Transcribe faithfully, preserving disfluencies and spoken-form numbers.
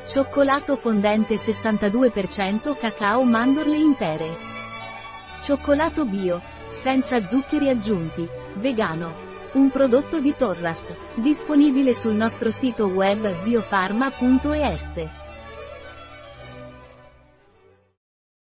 Cioccolato fondente sessantadue per cento cacao mandorle intere. Cioccolato bio, senza zuccheri aggiunti, vegano. Un prodotto di Torras, disponibile sul nostro sito web biofarma punto es.